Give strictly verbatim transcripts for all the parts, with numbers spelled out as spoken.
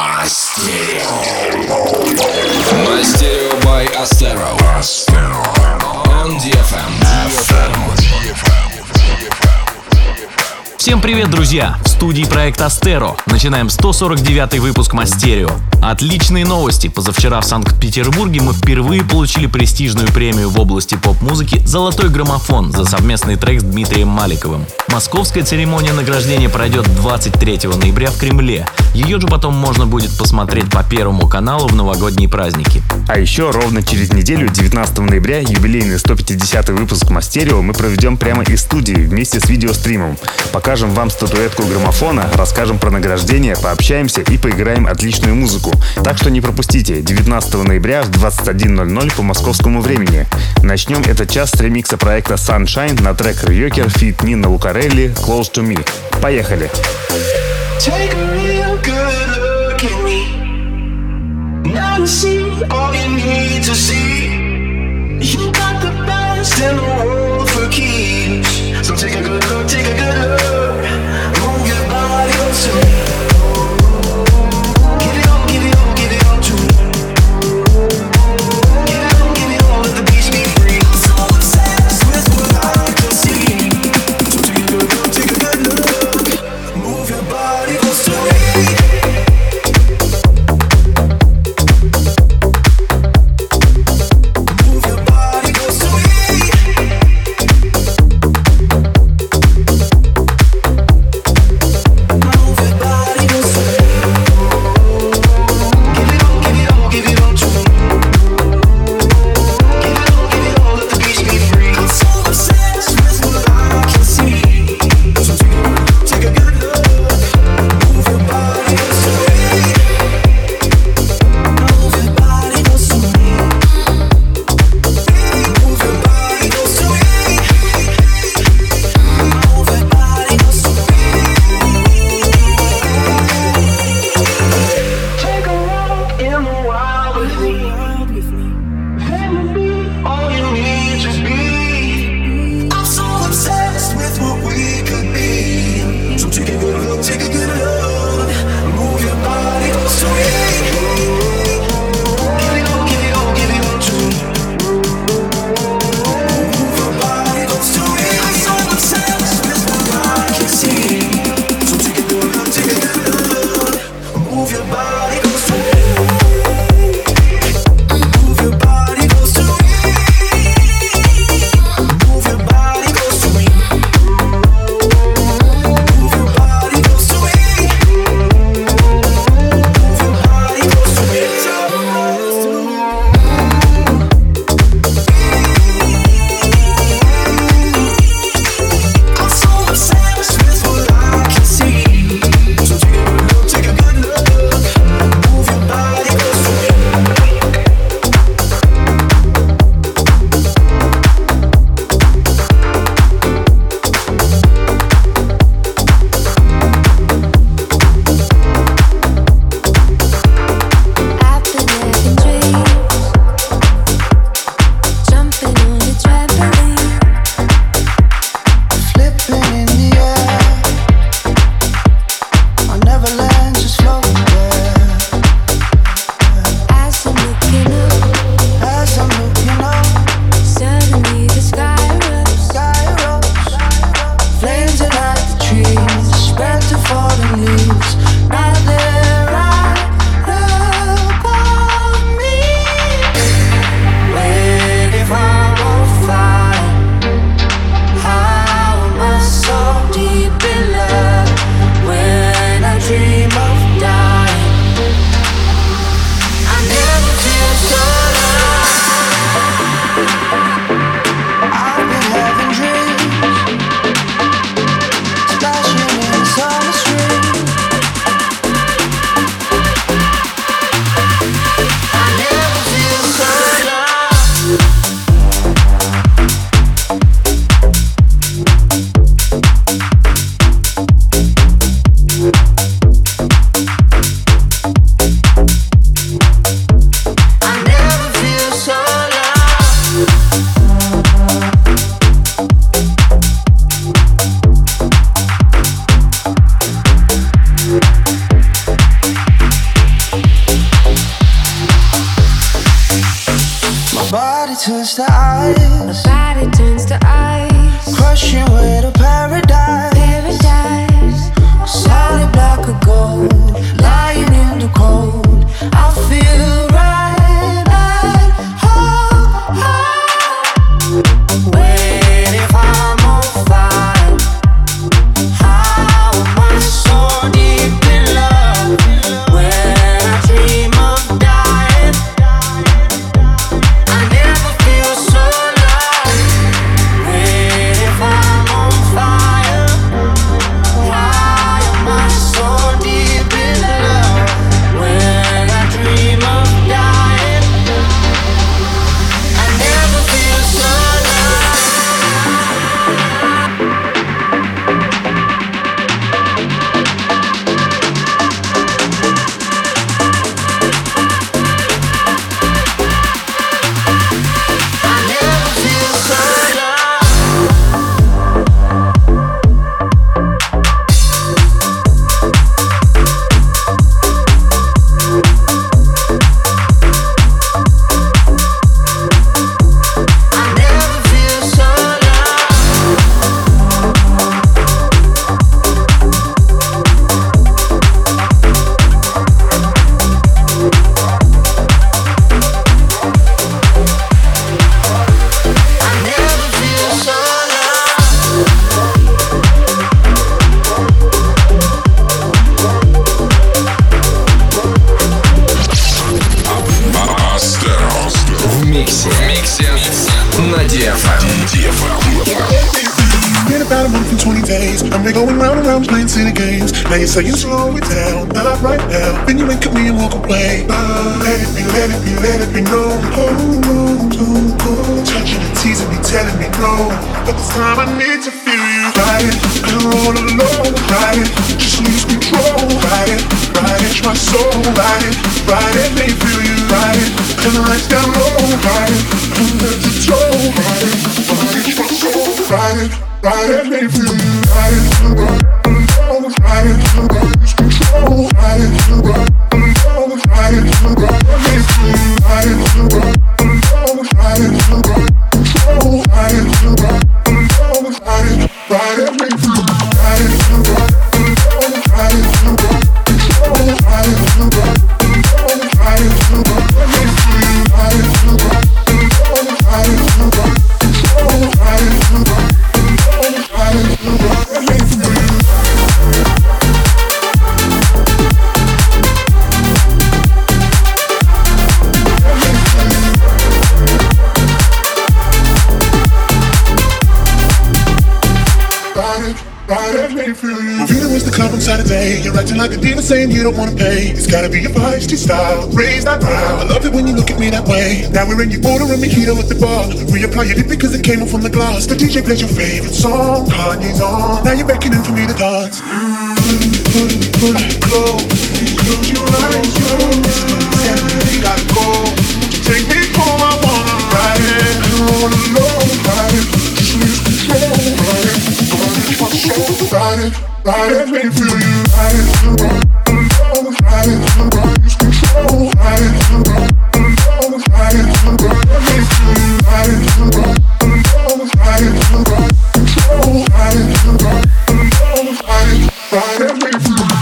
Мастерио by Astero on ди эф эм. Всем привет, друзья! В студии проект Astero. Начинаем сто сорок девятый выпуск Мастерио. Отличные новости. Позавчера в Санкт-Петербурге мы впервые получили престижную премию в области поп-музыки «Золотой граммофон» за совместный трек с Дмитрием Маликовым. Московская церемония награждения пройдет двадцать третьего ноября в Кремле. Ее же потом можно будет посмотреть по Первому каналу в новогодние праздники. А еще ровно через неделю, девятнадцатого ноября, юбилейный сто пятидесятый выпуск Мастерио мы проведем прямо из студии вместе с видеостримом. Покажем вам статуэтку граммофона, расскажем про награждение, пообщаемся и поиграем отличную музыку. Так что не пропустите, девятнадцатого ноября в двадцать один ноль ноль по московскому времени. Начнем этот час с ремикса проекта Sunshine на трек Рьокер feat. Нина Лукарелли «Close to Me». Поехали! Take a real good look at me. Now you see all you need to see. You got the best in the world for keeps. So take a good look, take a good look. Move your body to me. Give it all, give it all, give it all to me. Give it all, give it all, let the beach be free. I'm so obsessed with what I can see. So take a good look, take a good look. Move your body close to me. Move your body close to me. I was playing silly games. Now you're saying slow it down, not right now. Then you wink at me and walk away. Uh, let it be, let it be, let it be known. Oh, no, no, no. Touching and teasing me, telling me no. But this time I need to feel you. Ride it, and roll alone. Ride it, just lose control. Ride it, ride it, my soul. Ride it, ride it, let me feel you. Ride it, and the lights down low. Ride it, and let the toe. Ride it, ride it, my soul. Ride it, ride it, let me feel you. Ride it, ride it, alone. Ride it, ride it, lose control. Ride it, ride it, alone. Ride it, ride it, let me feel you. Ride it, ride it, alone. Ride it, ride it, control. Ride it, ride it, alone. Ride it, ride it, let me feel you. Ride it, ride it, alone. Ride it, ride it, control. Ride it, ride it, alone. Ride it, ride it, let me feel you. Ride it, ride it, alone. Ride it, ride it, control. Ride it, ride it, alone. Ride it, ride it, let me feel you. Feeling was the club on Saturday. You're acting like a diva saying you don't wanna pay. It's gotta be your feisty style. Raise that brow. I love it when you look at me that way. Now we're in your order and mojito at the bar. Reapply your lip because it came off from the glass. The D J plays your favorite song. Kanye's on. Now you're beckoning for me to dance. Mm, pull, pull, close. Close your eyes, close. We gotta go. Take me home, I wanna ride it. I don't wanna know, ride it. Just lose control, ride it. Ride it, ride it, let me feel you. Ride it, ride it, alone. Ride it, ride it, lose control. Ride it, ride it, alone. Ride it, ride it, let me feel you. Ride it, ride it, alone. Ride it, ride it, control. Ride it, ride it, alone. Ride it, ride it, let me feel you.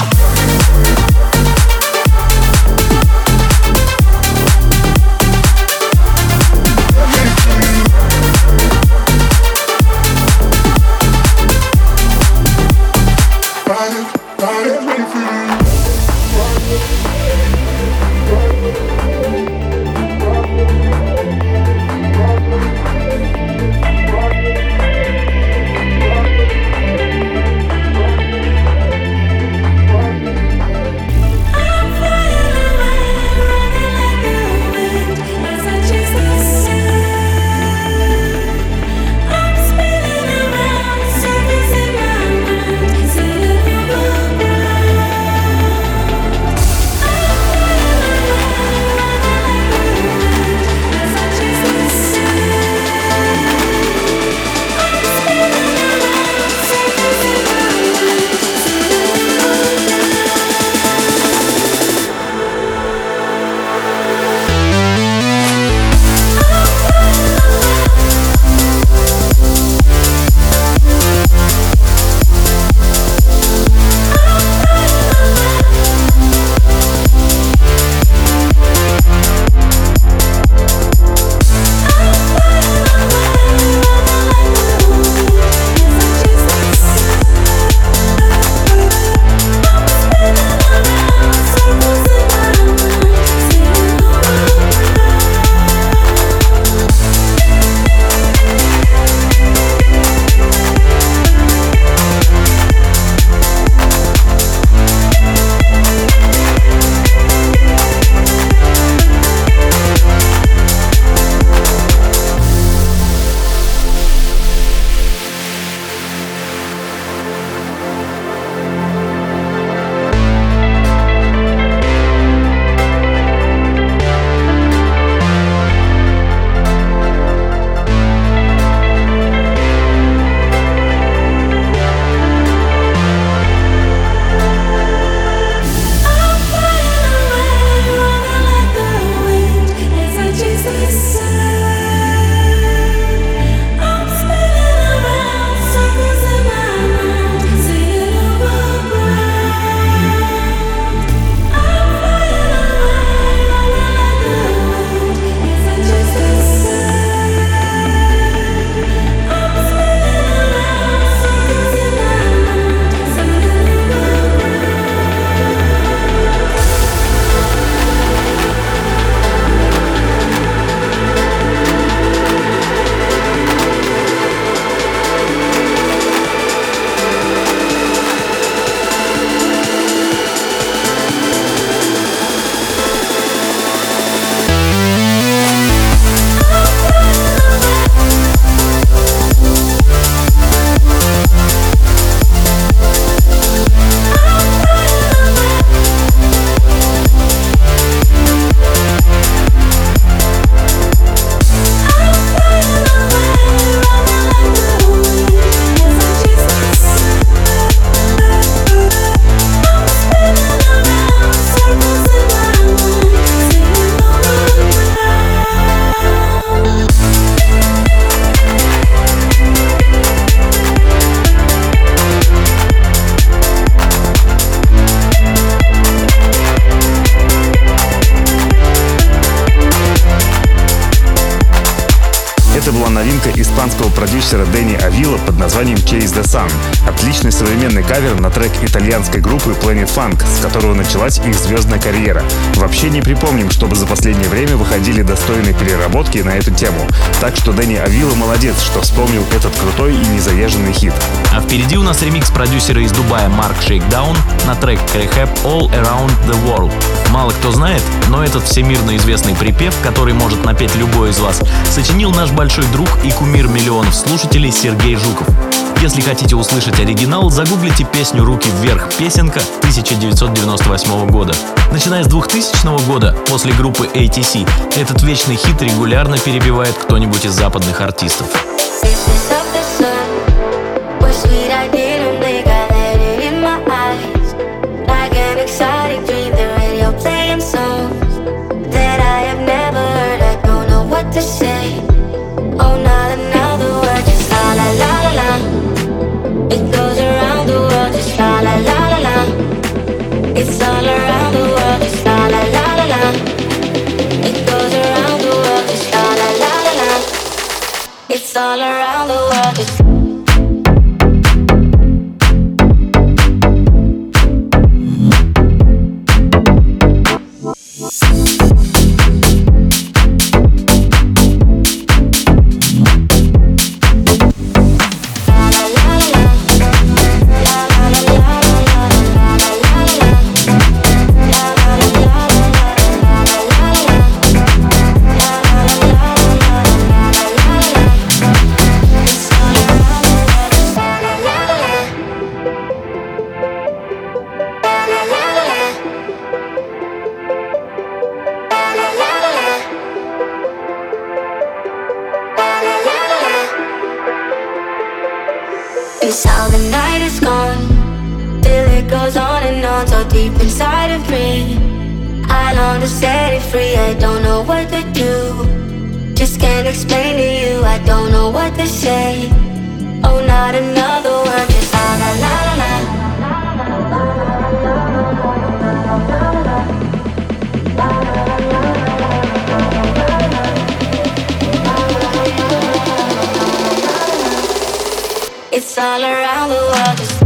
испанского продюсера Дэнни Авила под названием Chase the Sun. Отличный современный кавер на трек итальянской группы Planet Funk, с которого началась их звездная карьера. Вообще не припомним, чтобы за последнее время выходили достойные переработки на эту тему. Так что Дэнни Авила молодец, что вспомнил этот крутой и незаезженный хит. А впереди у нас ремикс продюсера из Дубая Марк Shakedown на трек Rehab All Around the World. Мало кто знает, но этот всемирно известный припев, который может напеть любой из вас, сочинил наш большой друг и кумир миллионов слушателей Сергей Жуков. Если хотите услышать оригинал, загуглите песню «Руки вверх» песенка тысяча девятьсот девяносто восьмого года. Начиная с двухтысячного года, после группы эй ти си, этот вечный хит регулярно перебивает кто-нибудь из западных артистов. It's all around the world, just la la la la la. It goes around the world, just la la la la la. It's all around the world, just. It's how the night is gone, till it goes on and on, so deep inside of me. I long to set it free, I don't know what to do. Just can't explain to you, I don't know what to say. Oh, not another word, just la la la la la. It's all around the world, just.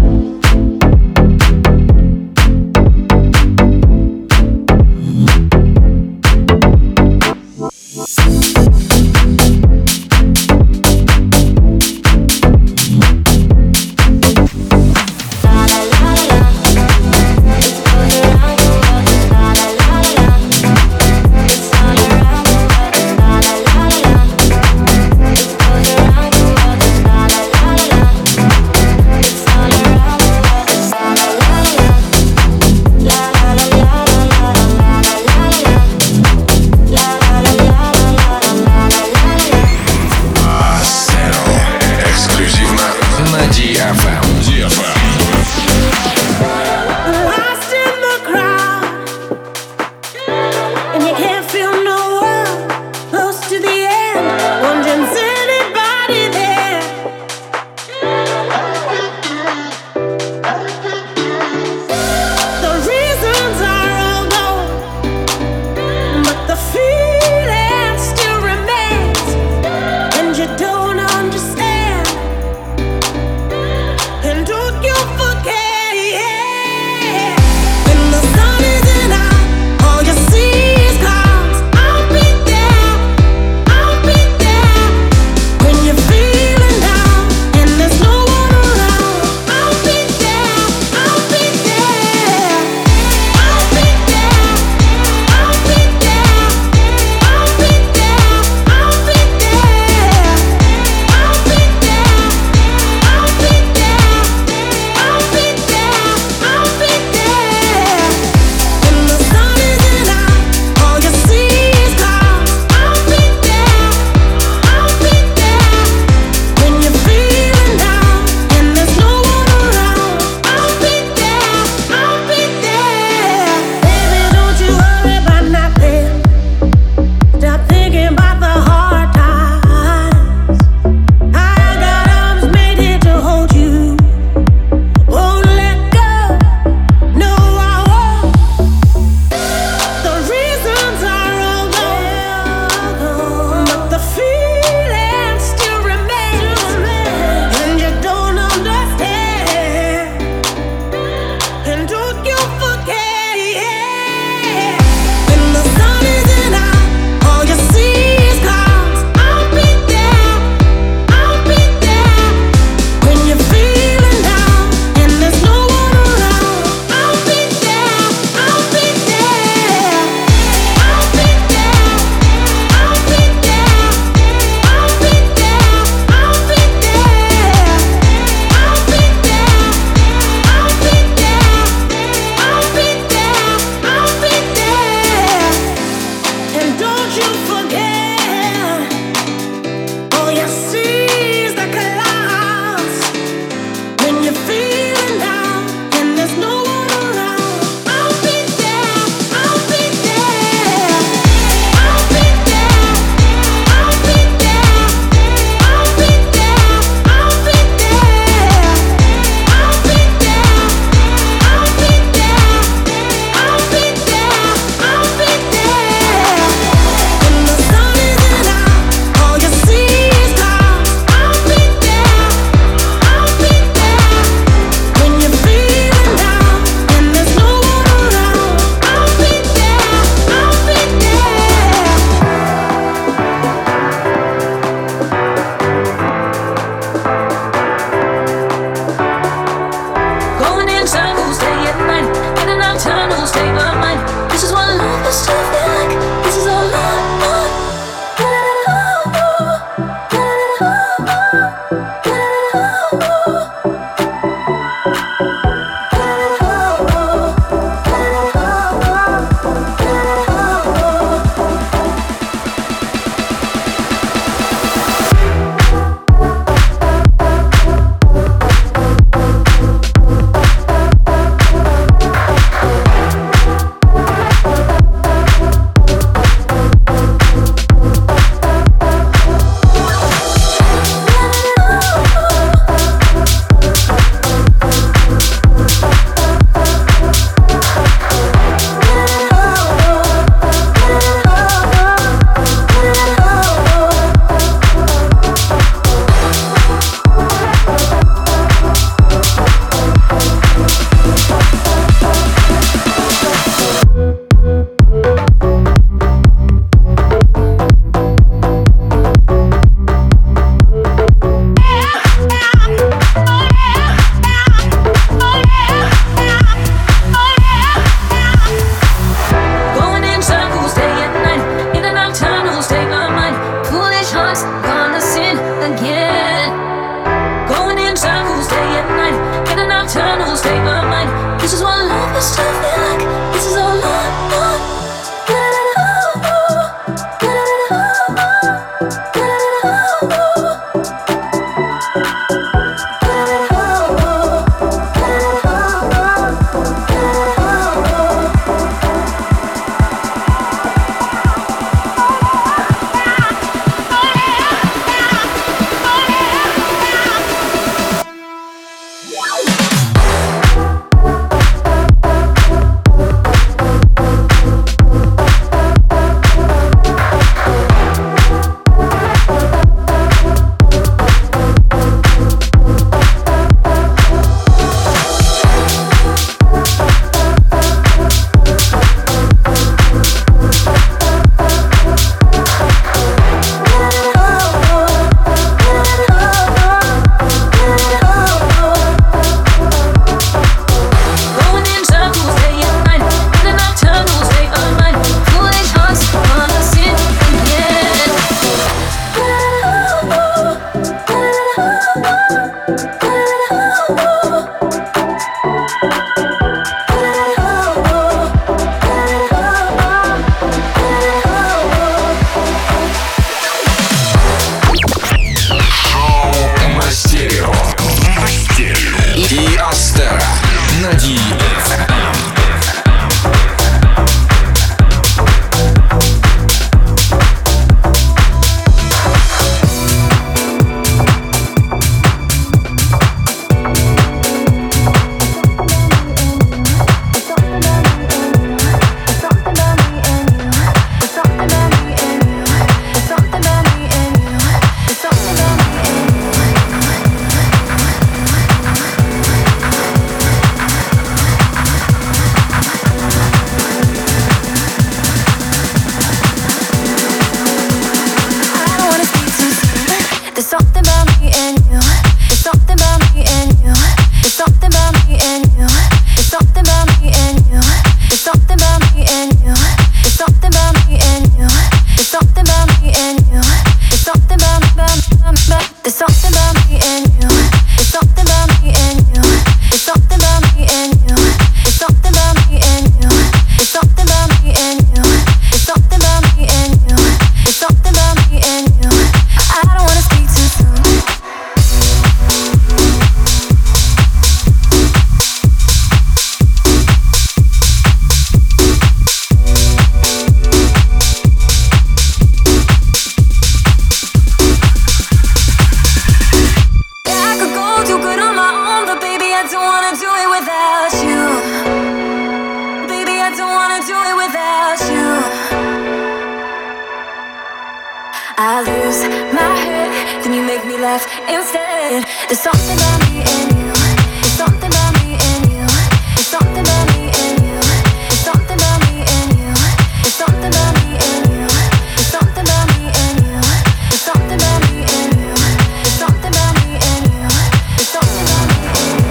I lose my head, then you make me laugh instead. There's something about me and you. There's something about me and you. There's something about me and you. There's something about me and you. There's something about me and you. There's something about me and you. There's something about me and you. There's something about me and you. There's something about me and you.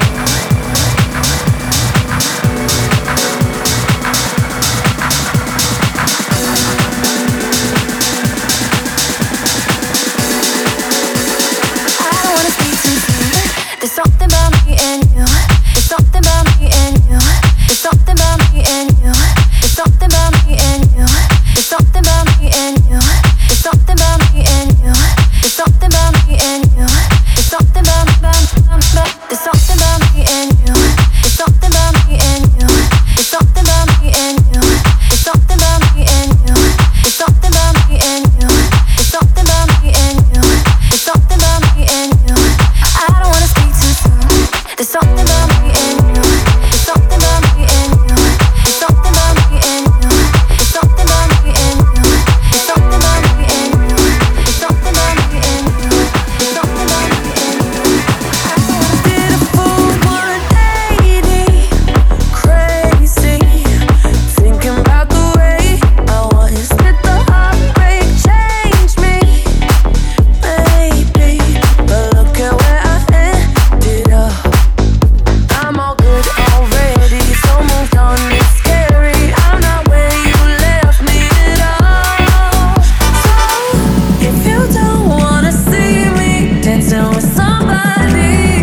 There's something about me and you. There's something about me and you. There's something about me and you. There's something about me and you. There's something about me and you. There's something about me and you. There's something about me and you. There's something about There's something about me and you. There's something about me and you. There's something about me and you. There's something about me and you. There's something about me and you. There's something about me and you. There's something about me and you. I don't wanna speak too soon. There's something about me and you. There's something about me and you. There's something about me and you. There's something about me and you. There's something about me and you. There's something about me and you. There's something about me and you. I don't wanna did a full one eighty, crazy, thinking about the way I was. Did the heartbreak change me? Maybe, but look at where I ended up. I'm all good already, so moved on. It's scary. I'm not where you left me at all. So if you don't wanna see me dancing with somebody,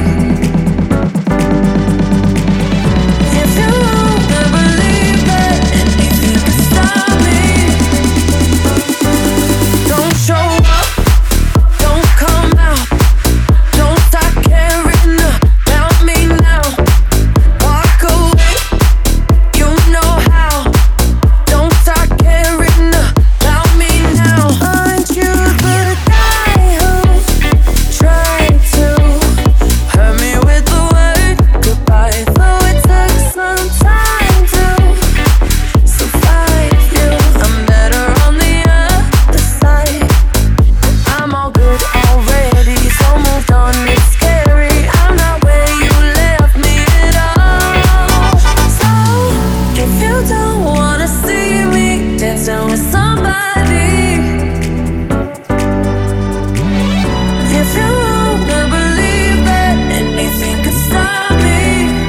if you wanna believe that anything can stop me, don't show up, don't come out, don't start caring about me now. Walk away, you know how. Don't start caring about me now. Aren't you the guy who tried to hurt me with the word goodbye? Though it took some time to survive you, I'm better on the other side. I'm all good already, so moved on. It's scary. I'm not where you left me at all. So if you don't wanna see me dancing with somebody, if you wanna believe that anything could stop me,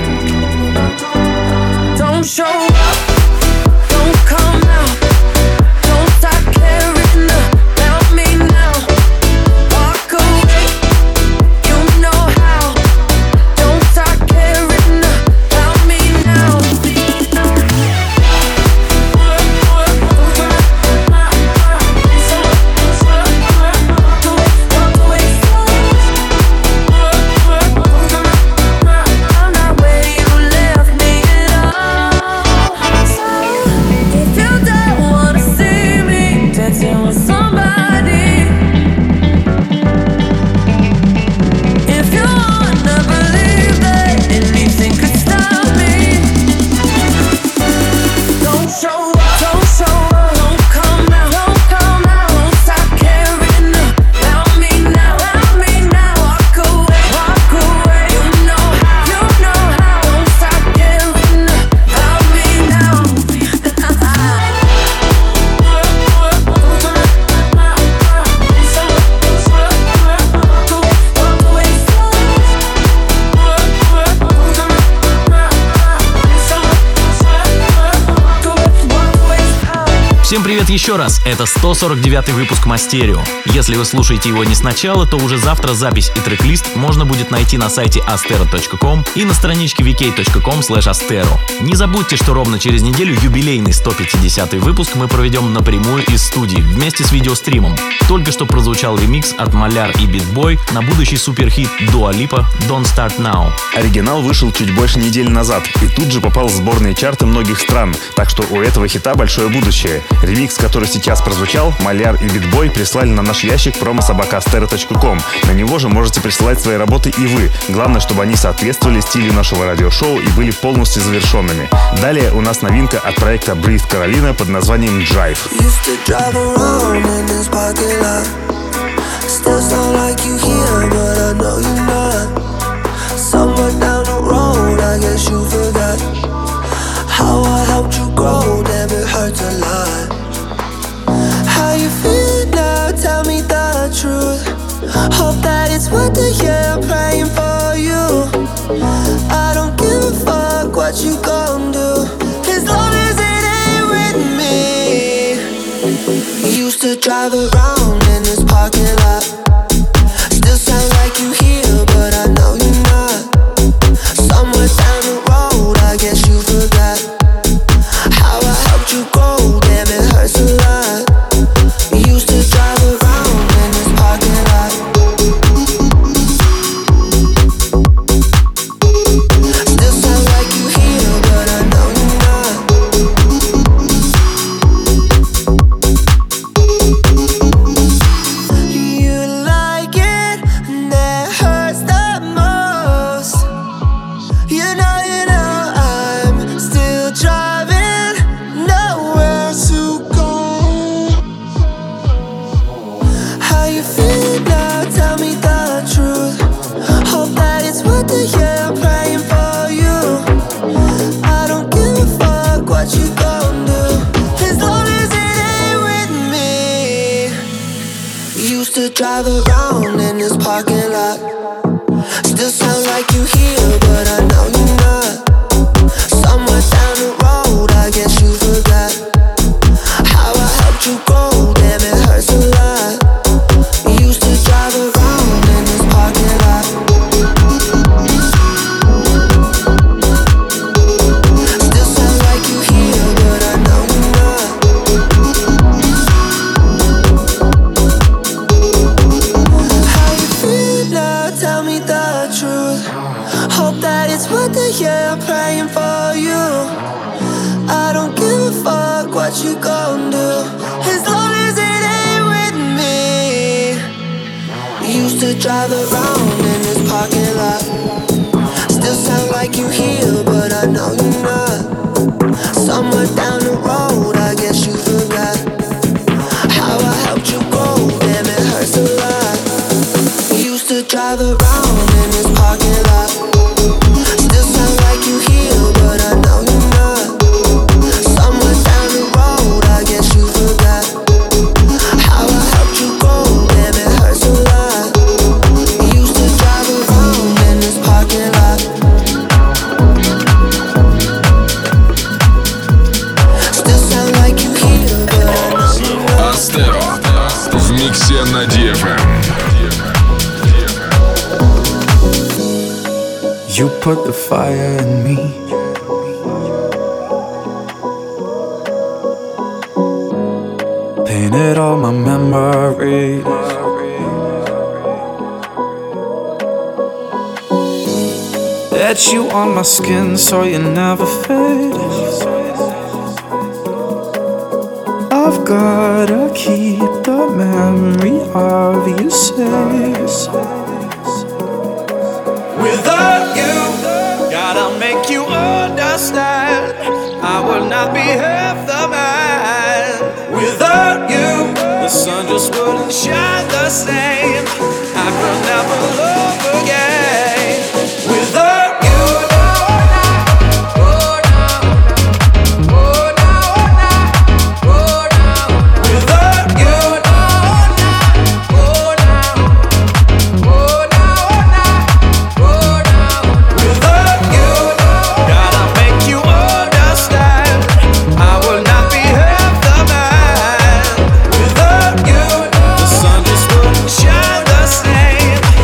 don't show up, don't come out, don't start caring about me now. Walk away, you know how. Don't start caring about me now. I'm not where you left me at all. So if you don't wanna see me dancing with somebody, if you wanna believe that anything could stop me, don't show up, don't show up, don't come out, don't come out, don't stop caring about me now, about me now. Walk away, walk away, you know how, you know how. Don't stop caring about me now. Всем привет еще раз, это сто сорок девятый выпуск Мастерио. Если вы слушаете его не сначала, то уже завтра запись и трек-лист можно будет найти на сайте astero точка ком и на страничке ви кей точка ком слэш astero. Не забудьте, что ровно через неделю юбилейный сто пятидесятый выпуск мы проведем напрямую из студии вместе с видеостримом. Только что прозвучал ремикс от Маляр и Битбой на будущий суперхит Dua Lipa Don't Start Now. Оригинал вышел чуть больше недели назад и тут же попал в сборные чарты многих стран, так что у этого хита большое будущее. Ремикс, который сейчас прозвучал, Маляр и Битбой прислали на наш ящик промо собака астера точка ком. На него же можете присылать свои работы и вы. Главное, чтобы они соответствовали стилю нашего радиошоу и были полностью завершенными. Далее у нас новинка от проекта Breathe Carolina под названием Drive. Still sound like you here, but I know you're not. Somewhere down the road, I guess you forgot how I helped you grow, damn it hurts a lot. How you feel now, tell me the truth. Hope that it's worth it, yeah, I'm praying for you. I don't give a fuck what you gon' do, as long as it ain't with me. Used to drive around in this parking lot. Still sound like you here, but I know you're not. Somewhere down the road, I guess you forgot how I helped you grow, damn it hurts a lot. Used to drive around in this parking lot. Still sound like you here, but I know you're not. You like it, and that hurts the most. You know, you know, I'm still driving, nowhere to go. How you feel now, tell me the truth. Hope that it's worth it, yeah, I'm praying for you. I don't give a fuck what you gon' do, as long as it ain't with me. Used to drive around in this parking lot. Still sound like you here, but I know you're not. Somewhere down the road, I guess you forgot how I helped you grow, damn it hurts a lot. Used to drive around in this parking lot. Still sound like you here, but I know you're not. How you feel now, tell me the truth. Hope that it's worth it, yeah, I'm praying for you. I don't give a fuck what you gon' do, as long as it ain't with me. Used to drive around in this parking lot. Still sound like you here, but I know you're not. Somewhere down the road, I guess you forgot how I helped you grow, damn it hurts a lot. Used to drive around in this parking lot. Still sound like you here, but I know you're not. Somewhere down the road, I guess you forgot how I helped you grow, damn it hurts a lot. Used to drive around in this parking lot. Still sound like you here, but I know you're not. Астеро в миксе на ди эф эм. You put the fire in me. Painted all my memories. Etch you on my skin so you never fade. I've gotta keep the memory of you safe. Without you, gotta make you understand, I will not be half the man. Without you, the sun just wouldn't shine the same. I could never love again. Without you, Shine the same.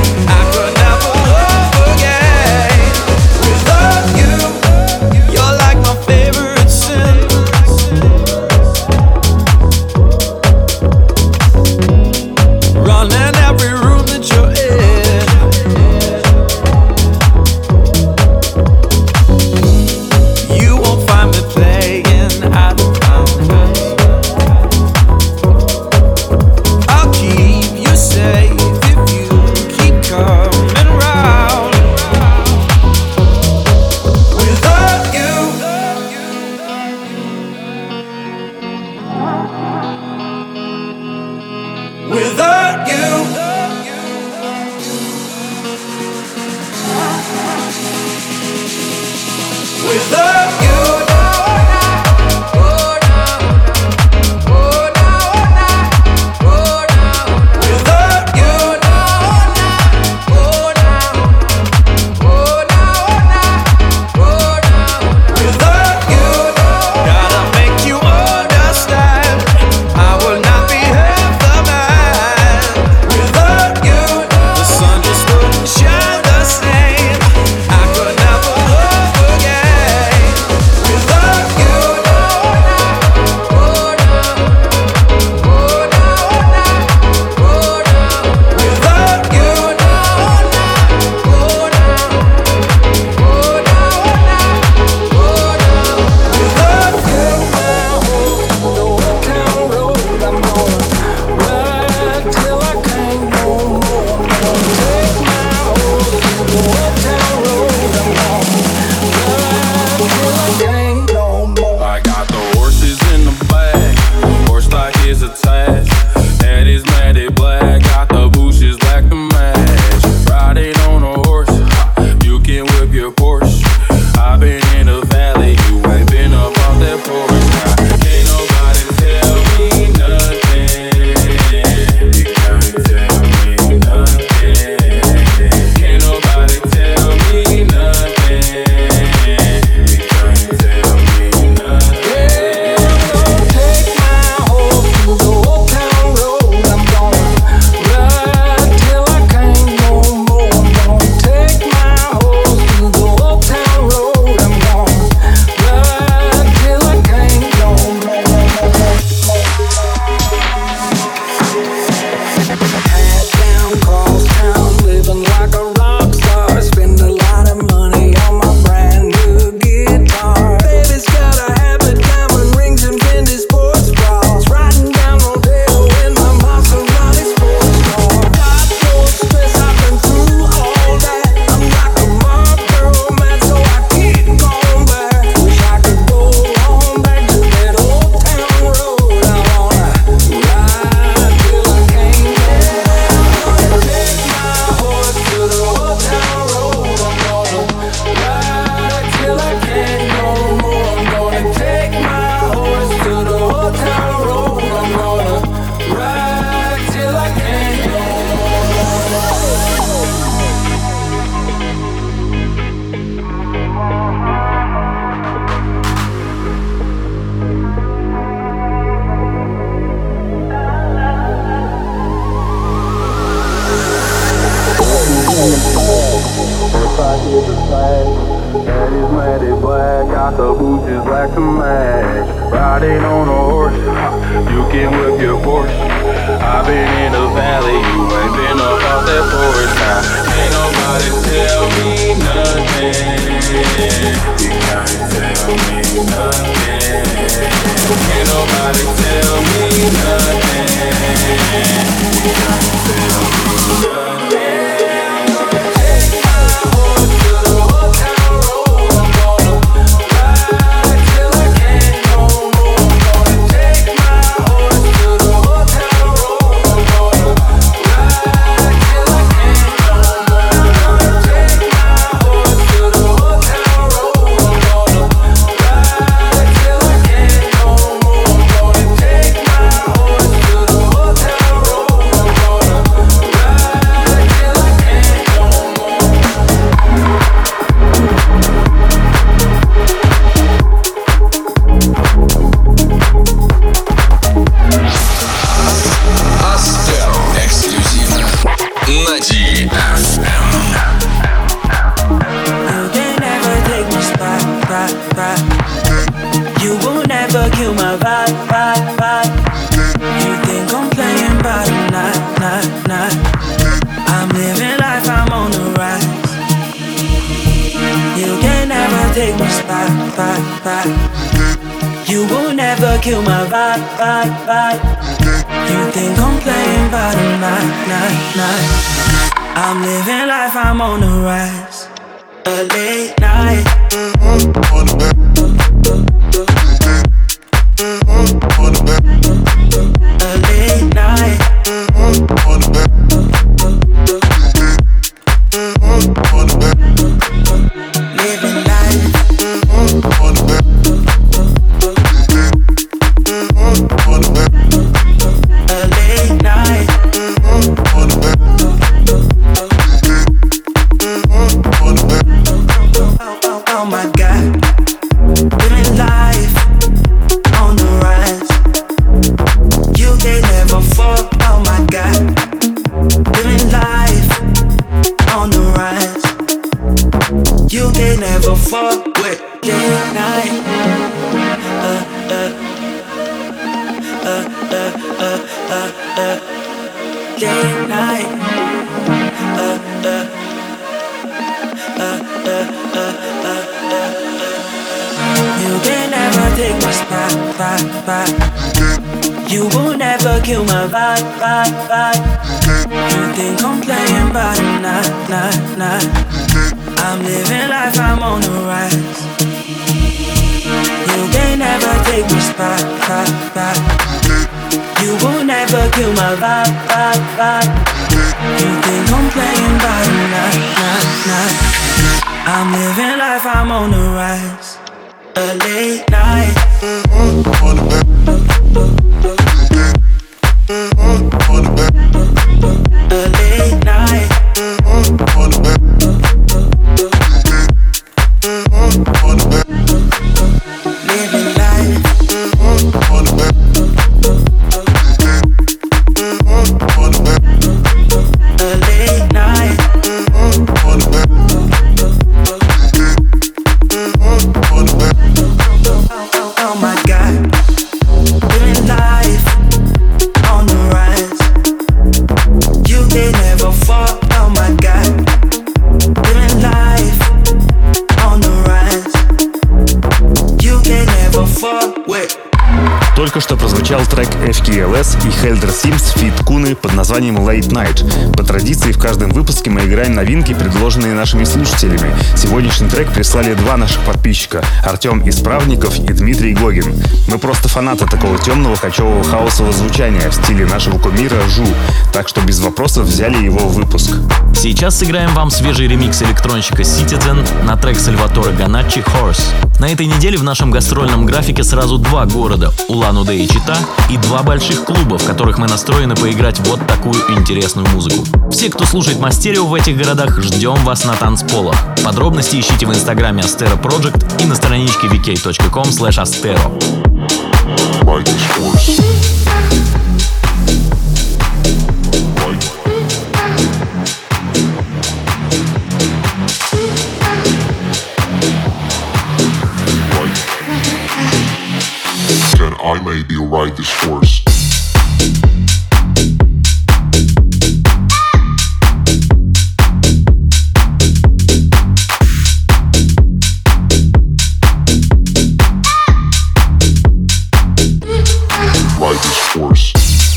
riding on a horse, you can whip your Porsche. I've been in the valley, you ain't been up out that porch. Now ain't nobody tell me nothing. You can't tell me nothing. Ain't nobody tell me nothing. You can't tell me nothing. You will never kill my vibe, vibe, vibe. You think I'm playing by the night, night, night. I'm living life, I'm on the rise. A late night. A late night. Living life. A late night. Oh, oh my God, living life on the rise. You can never fall. Oh my God, living life on the rise. You can never fall with late night. Uh, uh, uh, uh, uh, uh, uh, late night. Uh, uh, uh, uh, uh, uh, uh. You can never take my spot, spot, spot. You will never kill my vibe, vibe, vibe. You think I'm playing by the night, night, night. I'm living life, I'm on the rise. You can never take my spot, spot, spot. You will never kill my vibe, vibe, vibe. You think I'm playing by the night, night, night. I'm living life, I'm on the rise. A late night. A late night. Living life. A late night. Oh my God, living life on the rise. You can never fall. Oh my God, living life on the rise. You can never fall with. Только что прозвучал трек эф кей эл эс и Helder Sims фит Куны под названием Late Night. По традиции в каждом выпуске мы играем новинки, предложенные нашими слушателями. Сегодняшний трек прислали два наших подписчика — Артем Исправников и Дмитрий Гогин. Мы просто фанаты такого темного кочевого хаосового звучания в стиле нашего кумира Жу, так что без вопросов взяли его в выпуск. Сейчас сыграем вам свежий ремикс электронщика Citizen на трек Сальваторе Ганаччи «Horse». На этой неделе в нашем гастрольном графике сразу два города — Улан-Удэ и Чита, и два больших клуба, в которых мы настроены поиграть вот такую интересную музыку. Все, кто слушает Мастерио в этих городах, ждем вас на танцполах. Подробности ищите в инстаграме Astero Project и на страничке ви кей точка ком слэш astero. then I may be ride this horse. Ride this horse.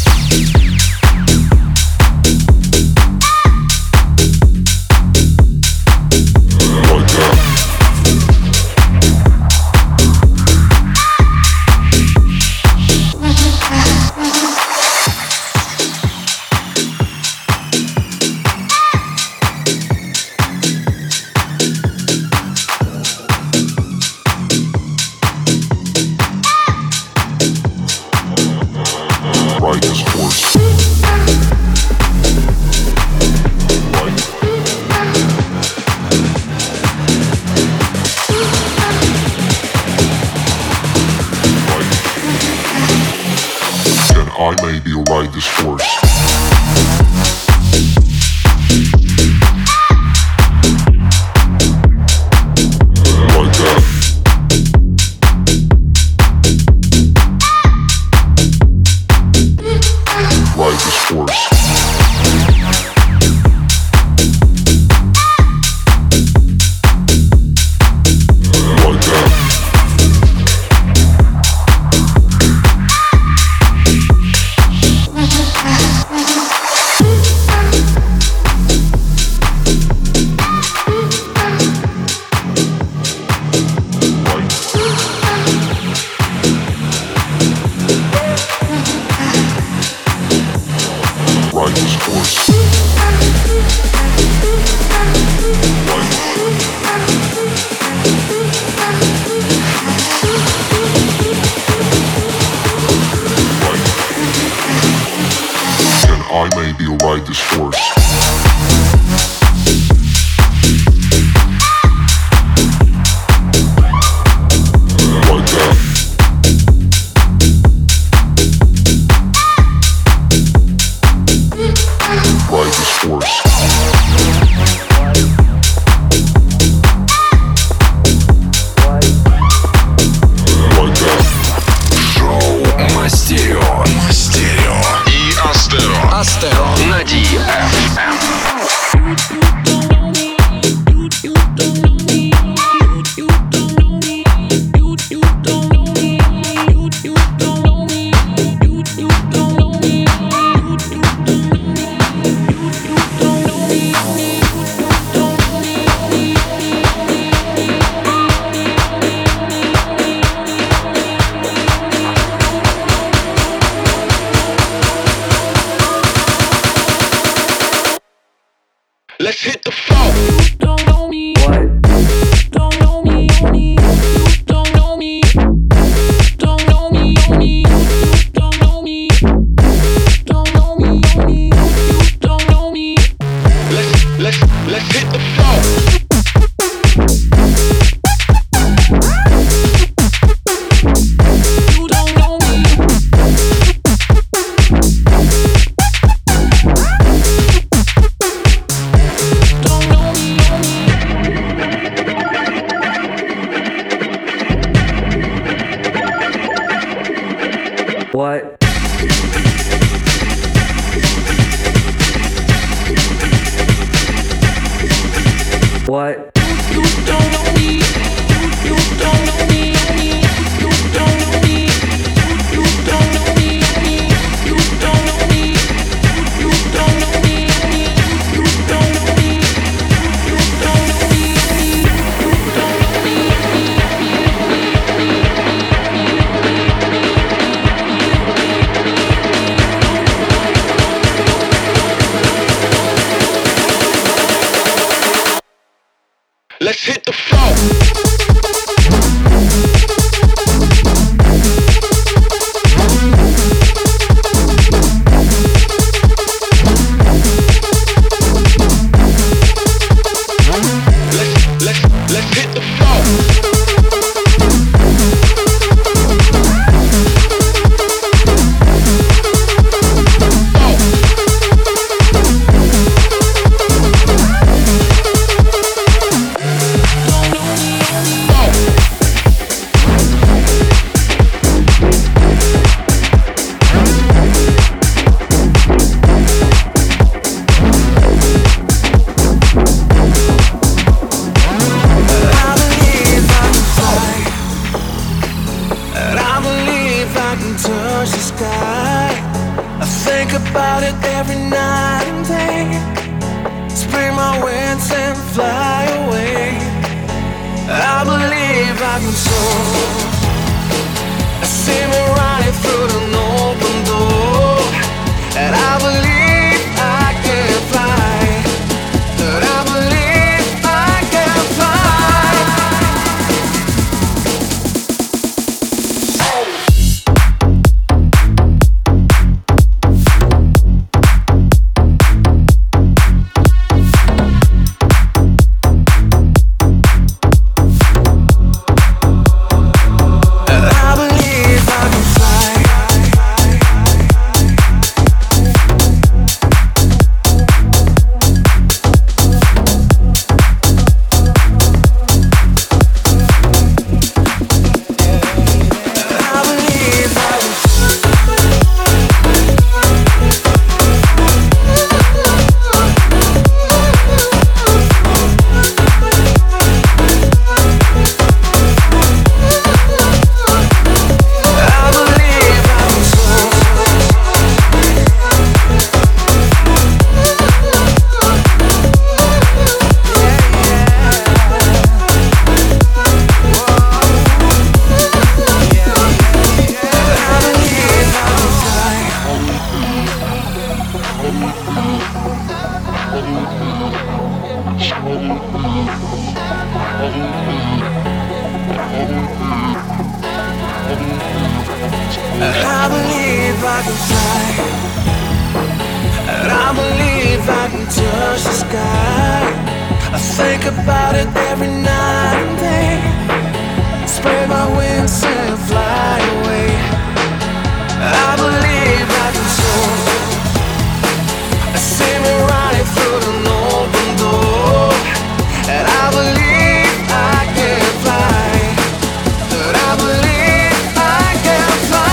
I may be ride this horse. Like that. Ride this horse. I may be ride this horse. Like that. Ride this horse. Like that. Шоу Мастерио. Мастерио. И Астеро. Астеро. На ди эф эм. Let's hit the floor. Don't know me. What? Don't know me. Don't know me. Don't know me. Don't know me. Don't know me. Don't know me. Let's let's let's hit the floor. You don't know me. Don't know me. What? What? You don't know me. You don't know me. You don't know me. You don't know me. You don't know me. You don't know me. You don't know me. You don't know me. Let's hit the floor. Let's let's let's hit the floor. Don't touch the sky. I think about it every night and day. Spread my wings and fly away. I believe I can soar. I see me running through the open door. And I believe I can fly. And I believe I can fly. I believe I can fly. And I believe I can touch the sky. I think about it every night and day. Spread my wings and fly away. I believe I can soar. I see me running through the open door. And I believe I can fly. And I believe I can fly.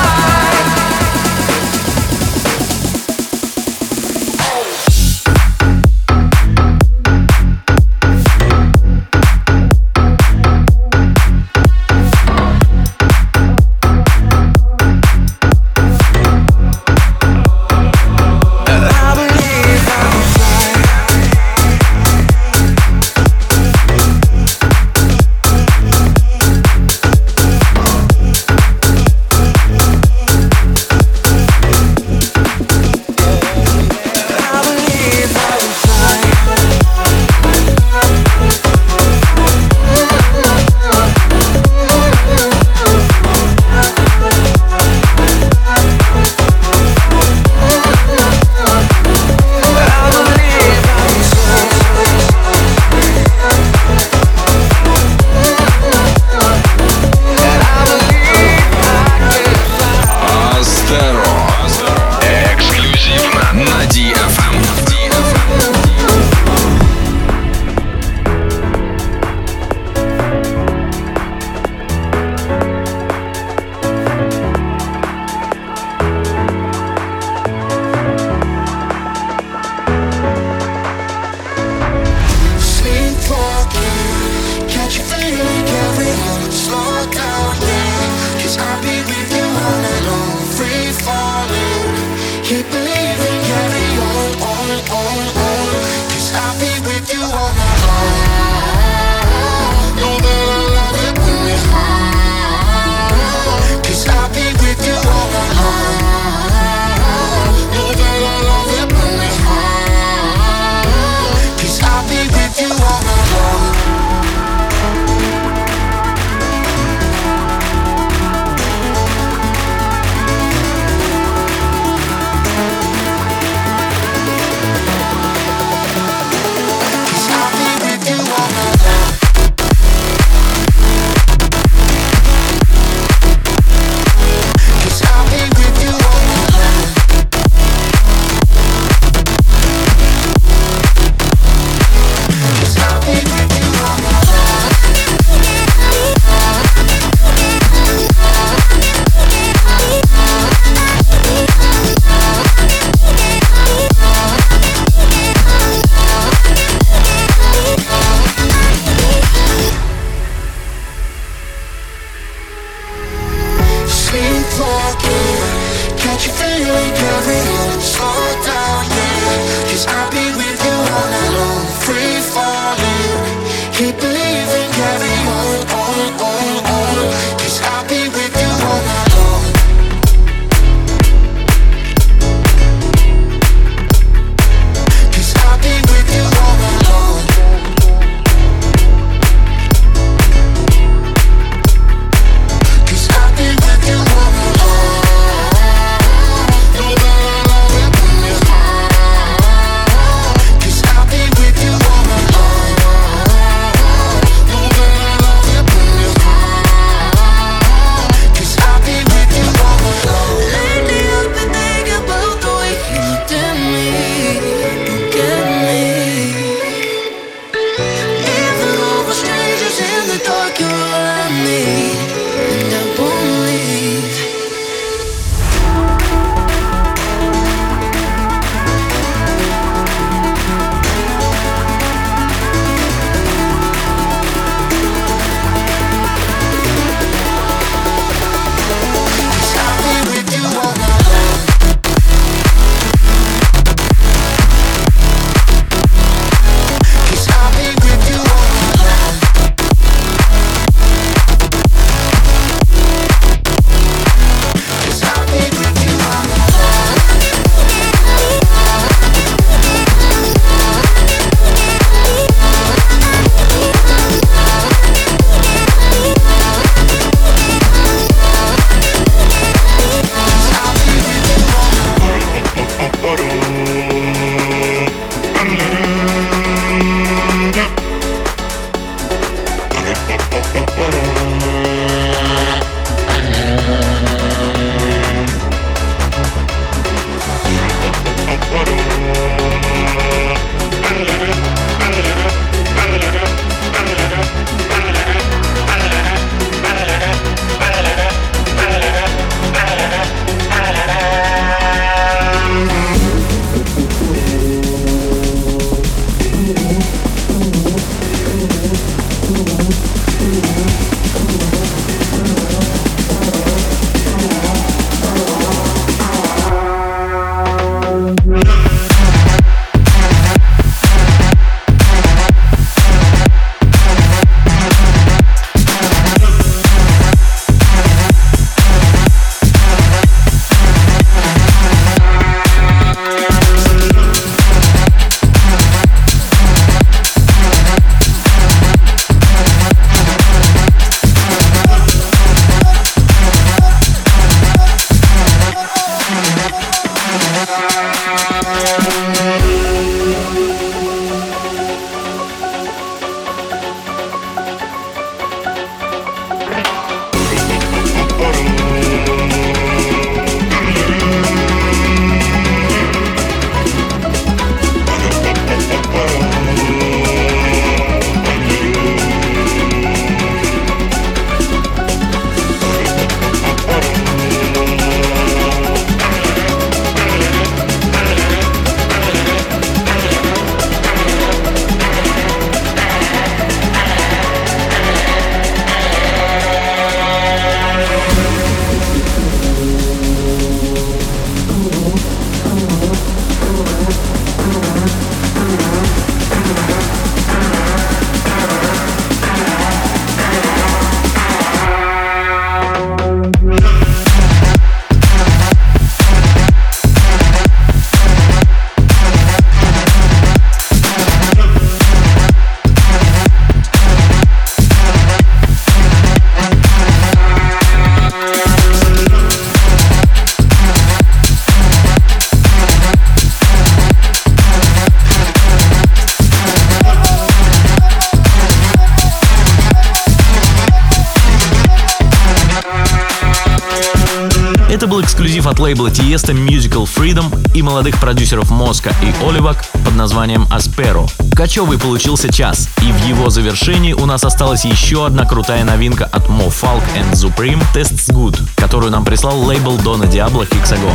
Can't you feel it, carry on, slow down, yeah. Cause I'll be with you all night long, free falling. Keep believing, carry on, on, on, on. Cause I'll be with you all night long. Cause I'll be with you all night long. Cause I'll be with you all night long. No matter how it bring me high. Cause I'll be with you all night long. No matter how it bring me high. Cause I'll be with you all night long. Lately I've been thinking about the way you looked at me. Don't get me. Even though we're strangers in the dark, you're all I need, and I won't leave. Cause I'll be with you all night long. Cause I'll be with you all night long. Cause I'll be with you all night long. Cause I'll be with you all night long. Это был эксклюзив от лейбла Tiesto Musical Freedom и молодых продюсеров Моска и Оливак под названием Aspero. Качевый получился час, и в его завершении у нас осталась еще одна крутая новинка от Mo Falk and Supreme Tastes Good, которую нам прислал лейбл Donna Diablo Hexagon.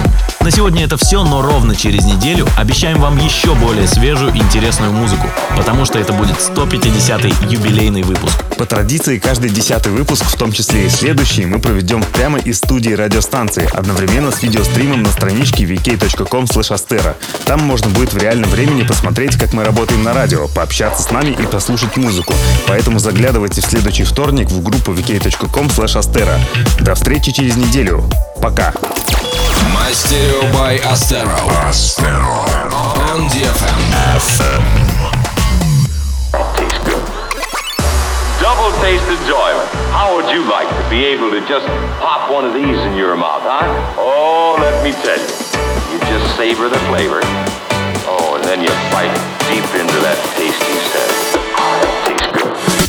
На сегодня это все, но ровно через неделю обещаем вам еще более свежую и интересную музыку, потому что это будет сто пятидесятый юбилейный выпуск. По традиции, каждый десятый выпуск, в том числе и следующий, мы проведем прямо из студии радиостанции, одновременно с видеостримом на страничке ви кей точка ком слэш астера. Там можно будет в реальном времени посмотреть, как мы работаем на радио, пообщаться с нами и послушать музыку. Поэтому заглядывайте в следующий вторник в группу ви кей точка ком слэш астера. До встречи через неделю. Пока. My Stereo by Astero. Astero. On ди эф эм. эф эм. Double taste enjoyment. How would you like to be able to just pop one of these in your mouth, huh? Oh, let me tell you. You just savor the flavor. Oh, and then you bite deep into that tasty set. That tastes good.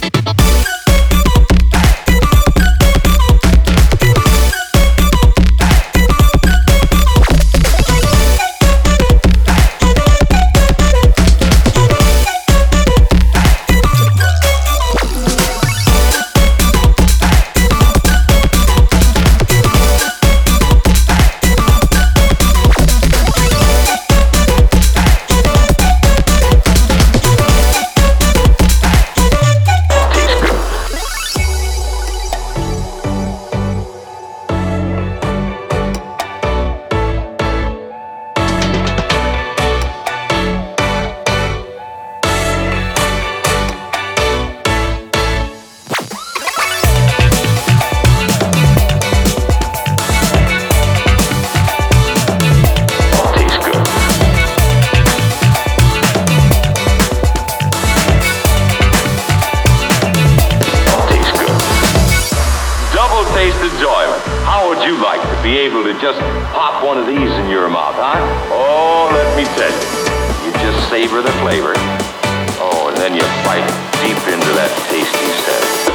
Be able to just pop one of these in your mouth, huh? Oh, let me tell you. You just savor the flavor. Oh, and then you bite deep into that tasty set.